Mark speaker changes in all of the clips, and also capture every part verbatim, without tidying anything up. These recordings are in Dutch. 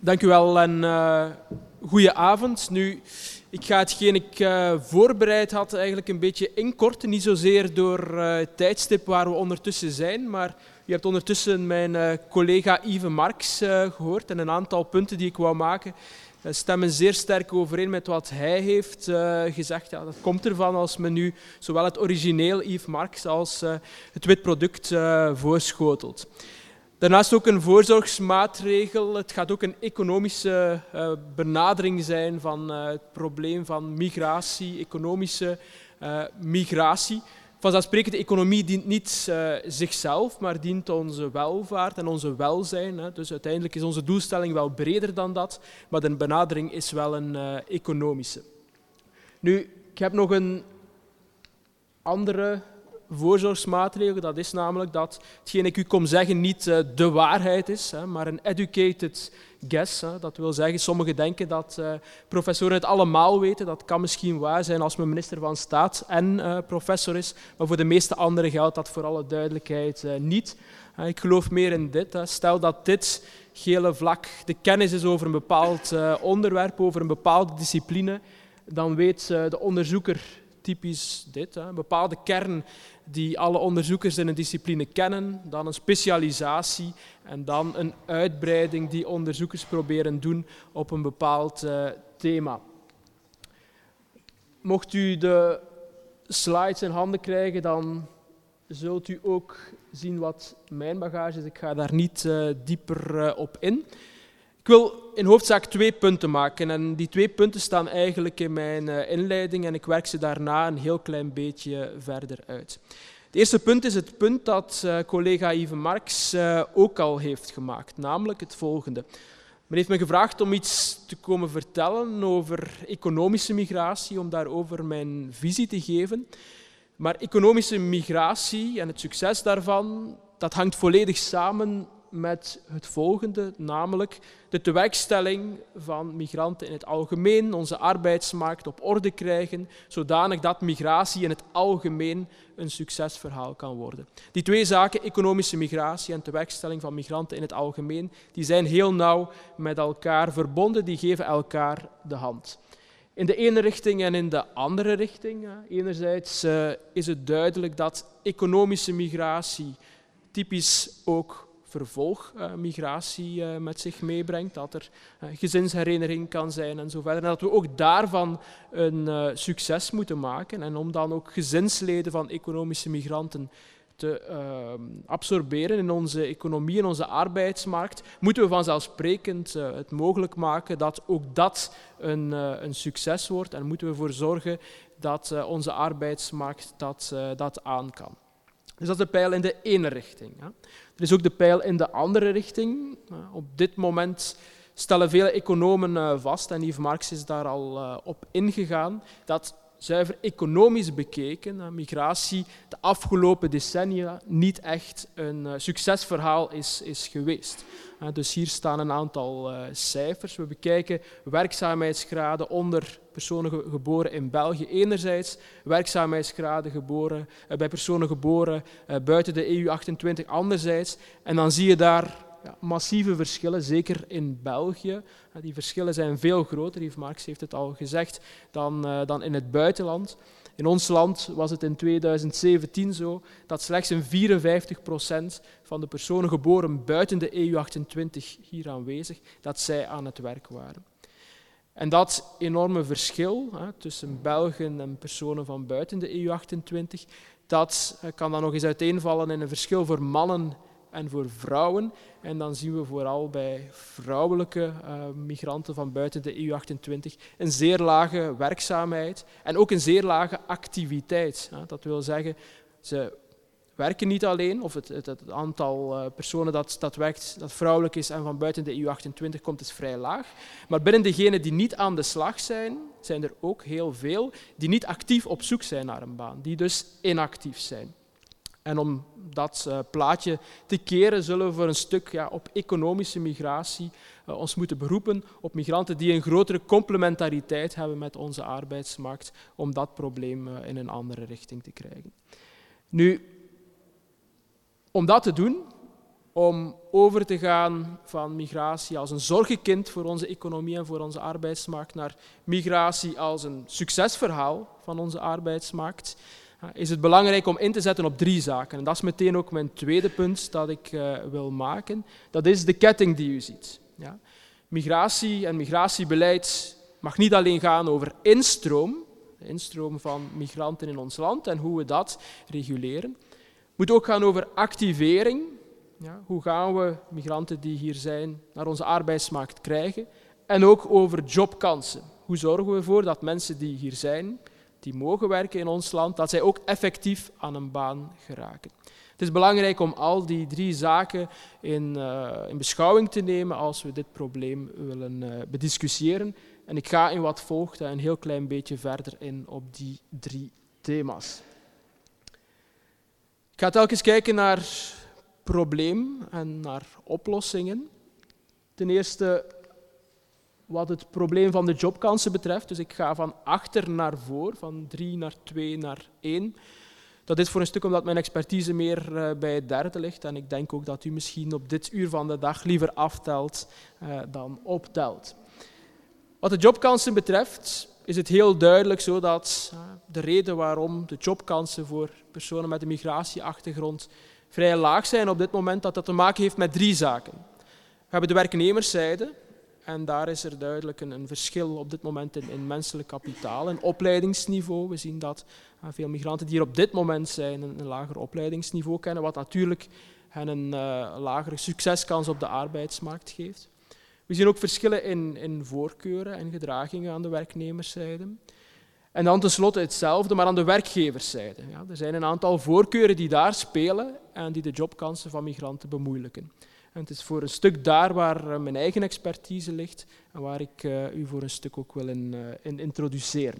Speaker 1: Dank u wel en uh, goeie avond. Nu, ik ga hetgeen ik uh, voorbereid had eigenlijk een beetje inkorten. Niet zozeer door uh, het tijdstip waar we ondertussen zijn, maar u hebt ondertussen mijn uh, collega Yves Marx uh, gehoord en een aantal punten die ik wou maken uh, stemmen zeer sterk overeen met wat hij heeft uh, gezegd. Ja, dat komt ervan als men nu zowel het origineel Yves Marx als uh, het wit product uh, voorschotelt. Daarnaast ook een voorzorgsmaatregel. Het gaat ook een economische uh, benadering zijn van uh, het probleem van migratie, economische uh, migratie. Vanzelfsprekend, de economie dient niet uh, zichzelf, maar dient onze welvaart en onze welzijn. Hè. Dus uiteindelijk is onze doelstelling wel breder dan dat, maar de benadering is wel een uh, economische. Nu, ik heb nog een andere voorzorgsmaatregel, dat is namelijk dat hetgeen ik u kom zeggen niet uh, de waarheid is, hè, maar een educated guess. Hè. Dat wil zeggen, sommigen denken dat uh, professoren het allemaal weten. Dat kan misschien waar zijn als men minister van Staat en uh, professor is, maar voor de meeste anderen geldt dat voor alle duidelijkheid uh, niet. Uh, ik geloof meer in dit. Hè. Stel dat dit gele vlak de kennis is over een bepaald uh, onderwerp, over een bepaalde discipline, dan weet uh, de onderzoeker typisch dit, hè, een bepaalde kern die alle onderzoekers in een discipline kennen, dan een specialisatie en dan een uitbreiding die onderzoekers proberen doen op een bepaald uh, thema. Mocht u de slides in handen krijgen, dan zult u ook zien wat mijn bagage is. Ik ga daar niet uh, dieper uh, op in. Ik wil in hoofdzaak twee punten maken en die twee punten staan eigenlijk in mijn uh, inleiding en ik werk ze daarna een heel klein beetje verder uit. Het eerste punt is het punt dat uh, collega Yves Marx uh, ook al heeft gemaakt, namelijk het volgende. Men heeft me gevraagd om iets te komen vertellen over economische migratie, om daarover mijn visie te geven. Maar economische migratie en het succes daarvan, dat hangt volledig samen met het volgende, namelijk de tewerkstelling van migranten in het algemeen, onze arbeidsmarkt op orde krijgen, zodanig dat migratie in het algemeen een succesverhaal kan worden. Die twee zaken, economische migratie en tewerkstelling van migranten in het algemeen, die zijn heel nauw met elkaar verbonden, die geven elkaar de hand. In de ene richting en in de andere richting. Enerzijds uh, is het duidelijk dat economische migratie typisch ook vervolgmigratie uh, uh, met zich meebrengt, dat er uh, gezinshereniging kan zijn en zo verder. En dat we ook daarvan een uh, succes moeten maken. En om dan ook gezinsleden van economische migranten te uh, absorberen in onze economie, in onze arbeidsmarkt, moeten we vanzelfsprekend uh, het mogelijk maken dat ook dat een, uh, een succes wordt en moeten we ervoor zorgen dat uh, onze arbeidsmarkt dat, uh, dat aan kan. Dus dat is de pijl in de ene richting. Hè. Er is ook de pijl in de andere richting. Op dit moment stellen vele economen vast, en Yves Marx is daar al op ingegaan, dat zuiver economisch bekeken migratie de afgelopen decennia niet echt een succesverhaal is, is geweest. Dus hier staan een aantal cijfers. We bekijken werkzaamheidsgraden onder personen geboren in België enerzijds, werkzaamheidsgraden geboren, bij personen geboren buiten de E U achtentwintig anderzijds. En dan zie je daar ja, massieve verschillen, zeker in België. Die verschillen zijn veel groter, Yves Marx heeft het al gezegd, dan, uh, dan in het buitenland. In ons land was het in tweeduizend zeventien zo dat slechts een vierenvijftig procent van de personen geboren buiten de E U achtentwintig hier aanwezig, dat zij aan het werk waren. En dat enorme verschil hè, tussen Belgen en personen van buiten de E U achtentwintig, dat uh, kan dan nog eens uiteenvallen in een verschil voor mannen en voor vrouwen. En dan zien we vooral bij vrouwelijke uh, migranten van buiten de E U achtentwintig een zeer lage werkzaamheid en ook een zeer lage activiteit. Hè. Dat wil zeggen, ze werken niet alleen, of het, het, het aantal uh, personen dat, dat werkt, dat vrouwelijk is en van buiten de E U achtentwintig komt, is vrij laag. Maar binnen degenen die niet aan de slag zijn, zijn er ook heel veel die niet actief op zoek zijn naar een baan, die dus inactief zijn. En om dat uh, plaatje te keren, zullen we voor een stuk ja, op economische migratie uh, ons moeten beroepen, op migranten die een grotere complementariteit hebben met onze arbeidsmarkt, om dat probleem uh, in een andere richting te krijgen. Nu, om dat te doen, om over te gaan van migratie als een zorgenkind voor onze economie en voor onze arbeidsmarkt naar migratie als een succesverhaal van onze arbeidsmarkt, is het belangrijk om in te zetten op drie zaken. En dat is meteen ook mijn tweede punt dat ik uh, wil maken. Dat is de ketting die u ziet. Ja. Migratie en migratiebeleid mag niet alleen gaan over instroom, de instroom van migranten in ons land en hoe we dat reguleren. Het moet ook gaan over activering. Ja, hoe gaan we migranten die hier zijn naar onze arbeidsmarkt krijgen? En ook over jobkansen. Hoe zorgen we ervoor dat mensen die hier zijn, die mogen werken in ons land, dat zij ook effectief aan een baan geraken? Het is belangrijk om al die drie zaken in, uh, in beschouwing te nemen als we dit probleem willen uh, bediscussiëren. En ik ga in wat volgt een heel klein beetje verder in op die drie thema's. Ik ga telkens kijken naar het probleem en naar oplossingen. Ten eerste wat het probleem van de jobkansen betreft. Dus ik ga van achter naar voor, van drie naar twee naar één. Dat is voor een stuk omdat mijn expertise meer uh, bij het derde ligt. En ik denk ook dat u misschien op dit uur van de dag liever aftelt uh, dan optelt. Wat de jobkansen betreft is het heel duidelijk zo dat uh, de reden waarom de jobkansen voor personen met een migratieachtergrond vrij laag zijn op dit moment, dat dat te maken heeft met drie zaken. We hebben de werknemerszijde. En daar is er duidelijk een, een verschil op dit moment in, in menselijk kapitaal en opleidingsniveau. We zien dat uh, veel migranten die hier op dit moment zijn een, een lager opleidingsniveau kennen, wat natuurlijk hen een uh, lagere succeskans op de arbeidsmarkt geeft. We zien ook verschillen in, in voorkeuren en gedragingen aan de werknemerszijde. En dan tenslotte hetzelfde, maar aan de werkgeverszijde. Ja, er zijn een aantal voorkeuren die daar spelen en die de jobkansen van migranten bemoeilijken. En het is voor een stuk daar waar mijn eigen expertise ligt en waar ik uh, u voor een stuk ook wil in, uh, in introduceren.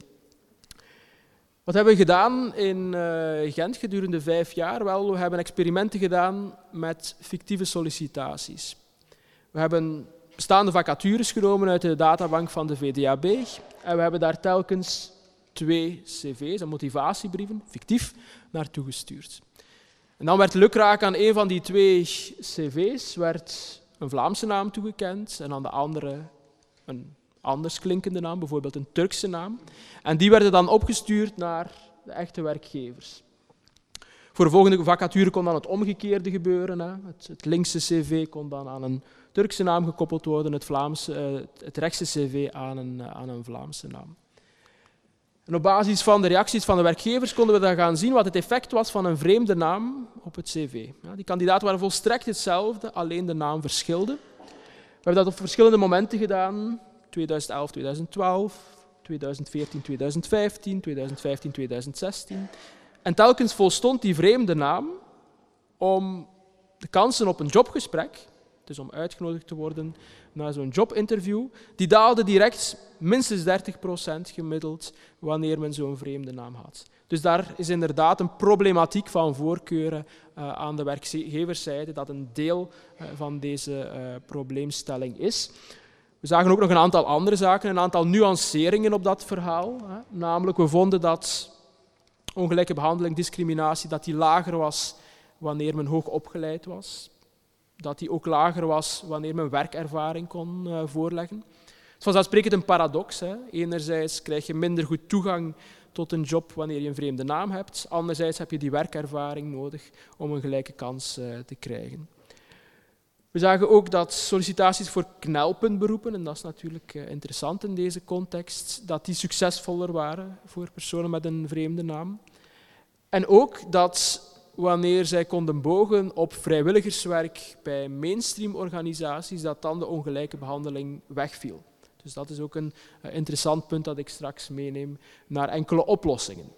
Speaker 1: Wat hebben we gedaan in uh, Gent gedurende vijf jaar? Wel, we hebben experimenten gedaan met fictieve sollicitaties. We hebben bestaande vacatures genomen uit de databank van de V D A B en we hebben daar telkens twee cv's en motivatiebrieven, fictief, naartoe gestuurd. En dan werd lukraak aan een van die twee cv's werd een Vlaamse naam toegekend en aan de andere een anders klinkende naam, bijvoorbeeld een Turkse naam. En die werden dan opgestuurd naar de echte werkgevers. Voor de volgende vacature kon dan het omgekeerde gebeuren. Hè. Het, het linkse cv kon dan aan een Turkse naam gekoppeld worden, het, Vlaamse, uh, het rechtse cv aan een, uh, aan een Vlaamse naam. En op basis van de reacties van de werkgevers konden we dan gaan zien wat het effect was van een vreemde naam op het cv. Ja, die kandidaten waren volstrekt hetzelfde, alleen de naam verschilde. We hebben dat op verschillende momenten gedaan. tweeduizend elf, tweeduizend twaalf, tweeduizend veertien, tweeduizend vijftien, tweeduizend vijftien, tweeduizend zestien. En telkens volstond die vreemde naam om de kansen op een jobgesprek, dus om uitgenodigd te worden naar zo'n jobinterview, die daalde direct minstens dertig procent gemiddeld wanneer men zo'n vreemde naam had. Dus daar is inderdaad een problematiek van voorkeuren uh, aan de werkgeverszijde dat een deel uh, van deze uh, probleemstelling is. We zagen ook nog een aantal andere zaken, een aantal nuanceringen op dat verhaal. Hè. Namelijk, we vonden dat ongelijke behandeling, discriminatie, dat die lager was wanneer men hoog opgeleid was. Dat die ook lager was wanneer men werkervaring kon uh, voorleggen. Het is vanzelfsprekend een paradox. Hè. Enerzijds krijg je minder goed toegang tot een job wanneer je een vreemde naam hebt. Anderzijds heb je die werkervaring nodig om een gelijke kans uh, te krijgen. We zagen ook dat sollicitaties voor knelpuntberoepen, en dat is natuurlijk uh, interessant in deze context, dat die succesvoller waren voor personen met een vreemde naam. En ook dat wanneer zij konden bogen op vrijwilligerswerk bij mainstream organisaties, dat dan de ongelijke behandeling wegviel. Dus dat is ook een uh, interessant punt dat ik straks meeneem naar enkele oplossingen.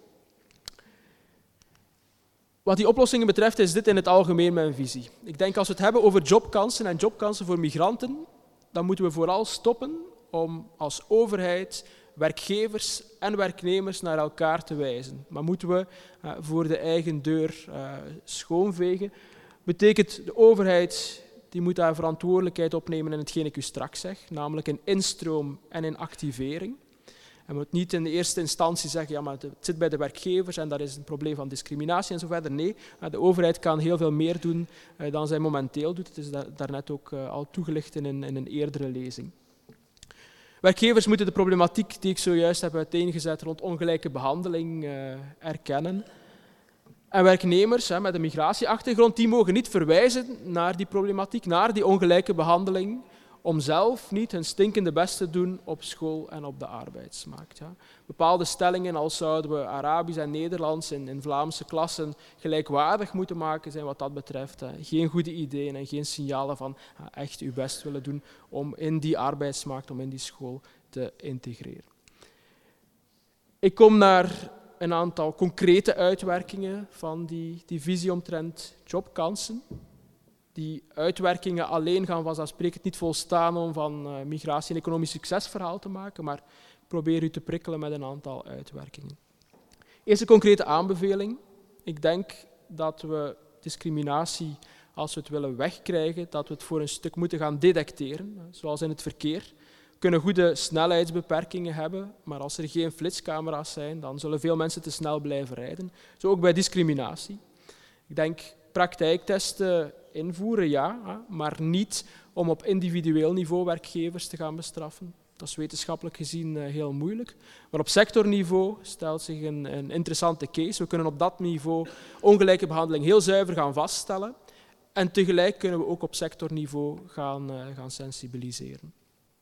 Speaker 1: Wat die oplossingen betreft is dit in het algemeen mijn visie. Ik denk als we het hebben over jobkansen en jobkansen voor migranten, dan moeten we vooral stoppen om als overheid werkgevers en werknemers naar elkaar te wijzen. Maar moeten we uh, voor de eigen deur uh, schoonvegen. Betekent de overheid die moet daar verantwoordelijkheid opnemen in hetgeen ik u straks zeg, namelijk in instroom en in activering. Je moet niet in de eerste instantie zeggen, ja, maar het zit bij de werkgevers en dat is een probleem van discriminatie en zo verder. Nee, de overheid kan heel veel meer doen dan zij momenteel doet. Het is daarnet ook al toegelicht in een, in een eerdere lezing. Werkgevers moeten de problematiek die ik zojuist heb uiteengezet rond ongelijke behandeling uh, erkennen. En werknemers hè, met een migratieachtergrond, die mogen niet verwijzen naar die problematiek, naar die ongelijke behandeling, om zelf niet hun stinkende best te doen op school en op de arbeidsmarkt. Ja. Bepaalde stellingen als zouden we Arabisch en Nederlands in, in Vlaamse klassen gelijkwaardig moeten maken, zijn wat dat betreft hè, geen goede ideeën en geen signalen van uh, echt uw best willen doen om in die arbeidsmarkt, om in die school te integreren. Ik kom naar een aantal concrete uitwerkingen van die, die visie omtrent jobkansen. Die uitwerkingen alleen gaan vanzelfsprekend niet volstaan om van uh, migratie een economisch succesverhaal te maken, maar ik probeer u te prikkelen met een aantal uitwerkingen. Eerste concrete aanbeveling. Ik denk dat we discriminatie, als we het willen wegkrijgen, dat we het voor een stuk moeten gaan detecteren, zoals in het verkeer. We kunnen goede snelheidsbeperkingen hebben, maar als er geen flitscamera's zijn, dan zullen veel mensen te snel blijven rijden. Zo ook bij discriminatie. Ik denk praktijktesten invoeren, ja, maar niet om op individueel niveau werkgevers te gaan bestraffen. Dat is wetenschappelijk gezien heel moeilijk. Maar op sectorniveau stelt zich een, een interessante case. We kunnen op dat niveau ongelijke behandeling heel zuiver gaan vaststellen. En tegelijk kunnen we ook op sectorniveau gaan, uh, gaan sensibiliseren.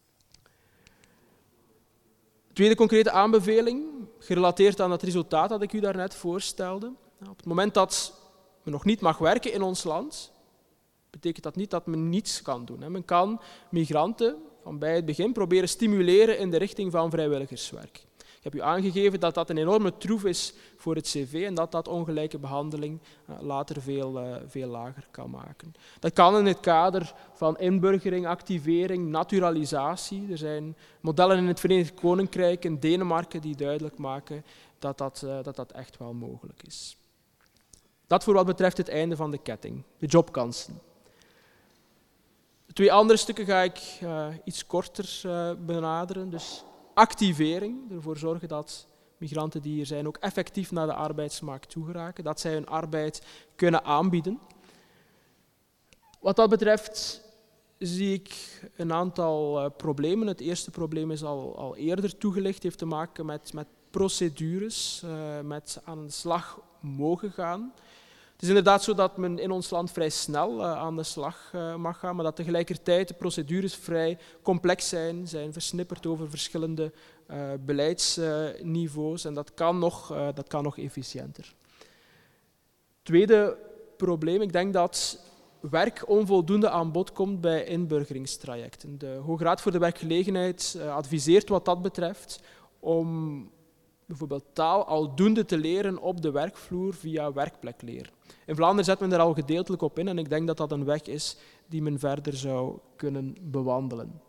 Speaker 1: Tweede concrete aanbeveling, gerelateerd aan het resultaat dat ik u daarnet voorstelde. Op het moment dat men nog niet mag werken in ons land, betekent dat niet dat men niets kan doen. Men kan migranten van bij het begin proberen stimuleren in de richting van vrijwilligerswerk. Ik heb u aangegeven dat dat een enorme troef is voor het cv en dat dat ongelijke behandeling later veel, uh, veel lager kan maken. Dat kan in het kader van inburgering, activering, naturalisatie. Er zijn modellen in het Verenigd Koninkrijk en Denemarken die duidelijk maken dat dat, uh, dat dat echt wel mogelijk is. Dat voor wat betreft het einde van de ketting, de jobkansen. De twee andere stukken ga ik uh, iets korter uh, benaderen. Dus activering, ervoor zorgen dat migranten die hier zijn ook effectief naar de arbeidsmarkt toe geraken, dat zij hun arbeid kunnen aanbieden. Wat dat betreft zie ik een aantal uh, problemen. Het eerste probleem is al, al eerder toegelicht, heeft te maken met, met procedures, uh, met aan de slag mogen gaan. Het is inderdaad zo dat men in ons land vrij snel uh, aan de slag uh, mag gaan, maar dat tegelijkertijd de procedures vrij complex zijn, zijn versnipperd over verschillende uh, beleidsniveaus uh, en dat kan, nog, uh, dat kan nog efficiënter. Tweede probleem, ik denk dat werk onvoldoende aan bod komt bij inburgeringstrajecten. De Hoge Raad voor de Werkgelegenheid uh, adviseert wat dat betreft om bijvoorbeeld taal aldoende te leren op de werkvloer via werkplekleer. In Vlaanderen zet men er al gedeeltelijk op in en ik denk dat dat een weg is die men verder zou kunnen bewandelen.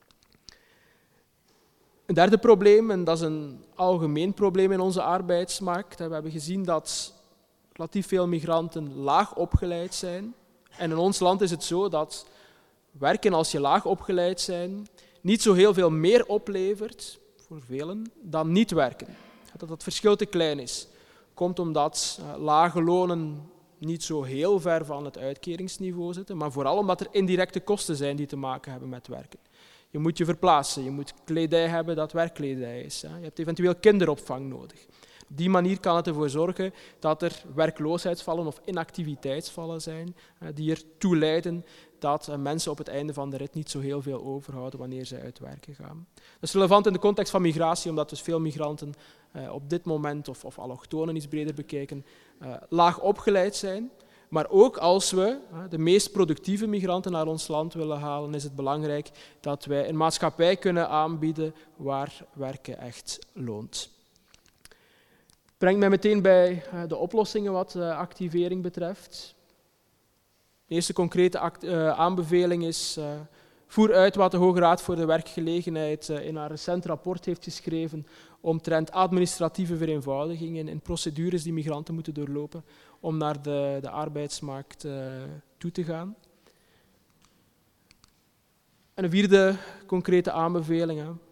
Speaker 1: Een derde probleem, en dat is een algemeen probleem in onze arbeidsmarkt. We hebben gezien dat relatief veel migranten laag opgeleid zijn. En in ons land is het zo dat werken als je laag opgeleid bent niet zo heel veel meer oplevert, voor velen, dan niet werken. Dat dat verschil te klein is. Komt omdat uh, lage lonen niet zo heel ver van het uitkeringsniveau zitten, maar vooral omdat er indirecte kosten zijn die te maken hebben met werken. Je moet je verplaatsen, je moet kledij hebben dat werkkledij is. Hè. Je hebt eventueel kinderopvang nodig. Op die manier kan het ervoor zorgen dat er werkloosheidsvallen of inactiviteitsvallen zijn uh, die ertoe leiden dat uh, mensen op het einde van de rit niet zo heel veel overhouden wanneer zij uit werken gaan. Dat is relevant in de context van migratie, omdat dus veel migranten uh, op dit moment, of, of allochtonen iets breder bekeken, uh, laag opgeleid zijn. Maar ook als we uh, de meest productieve migranten naar ons land willen halen, is het belangrijk dat wij een maatschappij kunnen aanbieden waar werken echt loont. Brengt mij meteen bij uh, de oplossingen wat uh, activering betreft. De eerste concrete act, uh, aanbeveling is, uh, voer uit wat de Hoge Raad voor de Werkgelegenheid uh, in haar recent rapport heeft geschreven omtrent administratieve vereenvoudigingen en procedures die migranten moeten doorlopen om naar de, de arbeidsmarkt uh, toe te gaan. En een vierde concrete aanbeveling, hè.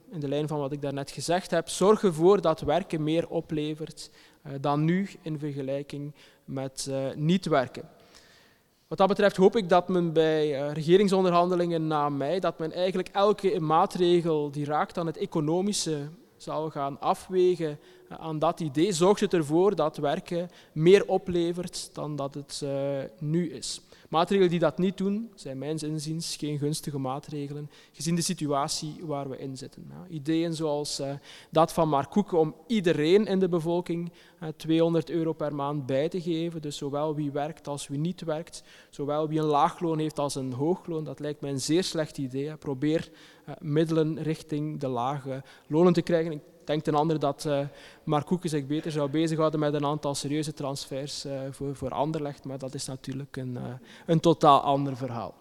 Speaker 1: in de lijn van wat ik daarnet gezegd heb, zorg ervoor dat werken meer oplevert uh, dan nu in vergelijking met uh, niet werken. Wat dat betreft hoop ik dat men bij uh, regeringsonderhandelingen na mei, dat men eigenlijk elke maatregel die raakt aan het economische zal gaan afwegen uh, aan dat idee. Zorgt het ervoor dat werken meer oplevert dan dat het uh, nu is. Maatregelen die dat niet doen, zijn mijns inziens geen gunstige maatregelen, gezien de situatie waar we in zitten. Ja, ideeën zoals uh, dat van Mark Koeken om iedereen in de bevolking uh, tweehonderd euro per maand bij te geven, dus zowel wie werkt als wie niet werkt, zowel wie een laagloon heeft als een hoogloon, dat lijkt mij een zeer slecht idee. Hè. Probeer uh, middelen richting de lage lonen te krijgen. Ik denk ten andere dat uh, Mark Koeken zich beter zou bezighouden met een aantal serieuze transfers uh, voor, voor Anderlecht, maar dat is natuurlijk een, uh, een totaal ander verhaal.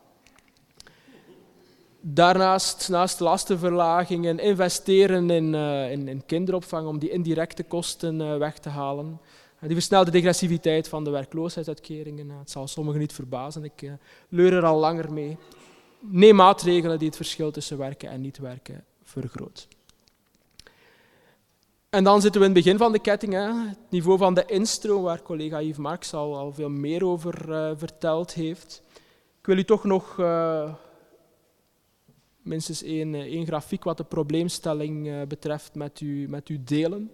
Speaker 1: Daarnaast, naast lastenverlagingen, investeren in, uh, in, in kinderopvang om die indirecte kosten uh, weg te halen. Uh, die versnelde degressiviteit van de werkloosheidsuitkeringen, uh, het zal sommigen niet verbazen, ik uh, leur er al langer mee. Neem maatregelen die het verschil tussen werken en niet werken vergroot. En dan zitten we in het begin van de ketting, hè. Het niveau van de instroom, waar collega Yves Marx al, al veel meer over uh, verteld heeft. Ik wil u toch nog uh, minstens één, één grafiek wat de probleemstelling uh, betreft met u, met u delen.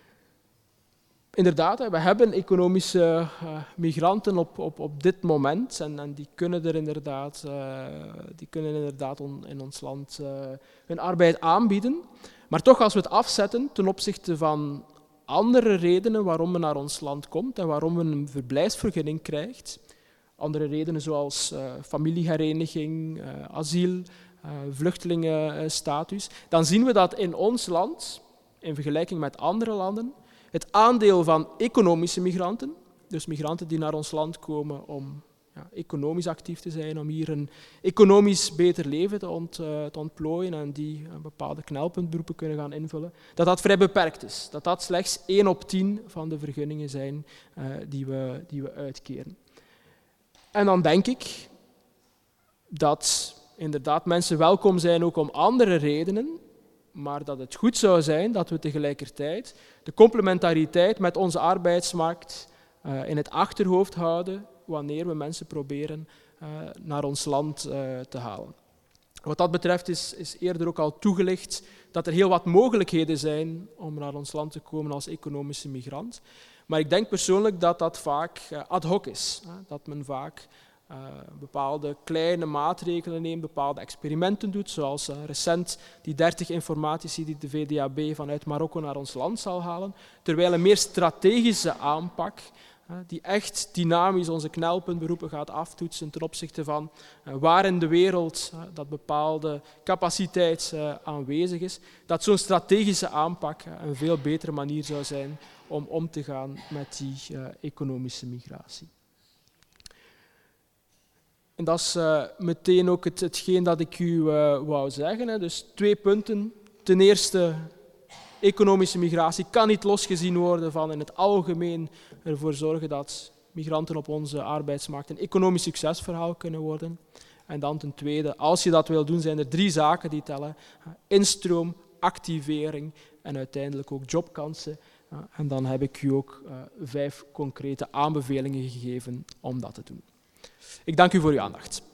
Speaker 1: Inderdaad, hè, we hebben economische uh, migranten op, op, op dit moment en, en die kunnen er inderdaad, uh, die kunnen inderdaad on, in ons land uh, hun arbeid aanbieden. Maar toch, als we het afzetten ten opzichte van andere redenen waarom men naar ons land komt en waarom men een verblijfsvergunning krijgt, andere redenen zoals uh, familiehereniging, uh, asiel, uh, vluchtelingenstatus, dan zien we dat in ons land, in vergelijking met andere landen, het aandeel van economische migranten, dus migranten die naar ons land komen om ja, economisch actief te zijn, om hier een economisch beter leven te, ont, uh, te ontplooien en die uh, bepaalde knelpuntberoepen kunnen gaan invullen, dat dat vrij beperkt is. Dat dat slechts één op tien van de vergunningen zijn uh, die, we, die we uitkeren. En dan denk ik dat inderdaad mensen welkom zijn ook om andere redenen, maar dat het goed zou zijn dat we tegelijkertijd de complementariteit met onze arbeidsmarkt uh, in het achterhoofd houden wanneer we mensen proberen uh, naar ons land uh, te halen. Wat dat betreft is, is eerder ook al toegelicht dat er heel wat mogelijkheden zijn om naar ons land te komen als economische migrant. Maar ik denk persoonlijk dat dat vaak uh, ad hoc is. Hè? Dat men vaak uh, bepaalde kleine maatregelen neemt, bepaalde experimenten doet, zoals uh, recent die dertig informatici die de V D A B vanuit Marokko naar ons land zal halen, terwijl een meer strategische aanpak die echt dynamisch onze knelpuntberoepen gaat aftoetsen ten opzichte van uh, waar in de wereld uh, dat bepaalde capaciteit uh, aanwezig is, dat zo'n strategische aanpak uh, een veel betere manier zou zijn om om te gaan met die uh, economische migratie. En dat is uh, meteen ook het, hetgeen dat ik u uh, wou zeggen. Hè. Dus twee punten. Ten eerste, economische migratie kan niet losgezien worden van in het algemeen ervoor zorgen dat migranten op onze arbeidsmarkt een economisch succesverhaal kunnen worden. En dan ten tweede, als je dat wil doen, zijn er drie zaken die tellen. Instroom, activering en uiteindelijk ook jobkansen. En dan heb ik u ook uh, vijf concrete aanbevelingen gegeven om dat te doen. Ik dank u voor uw aandacht.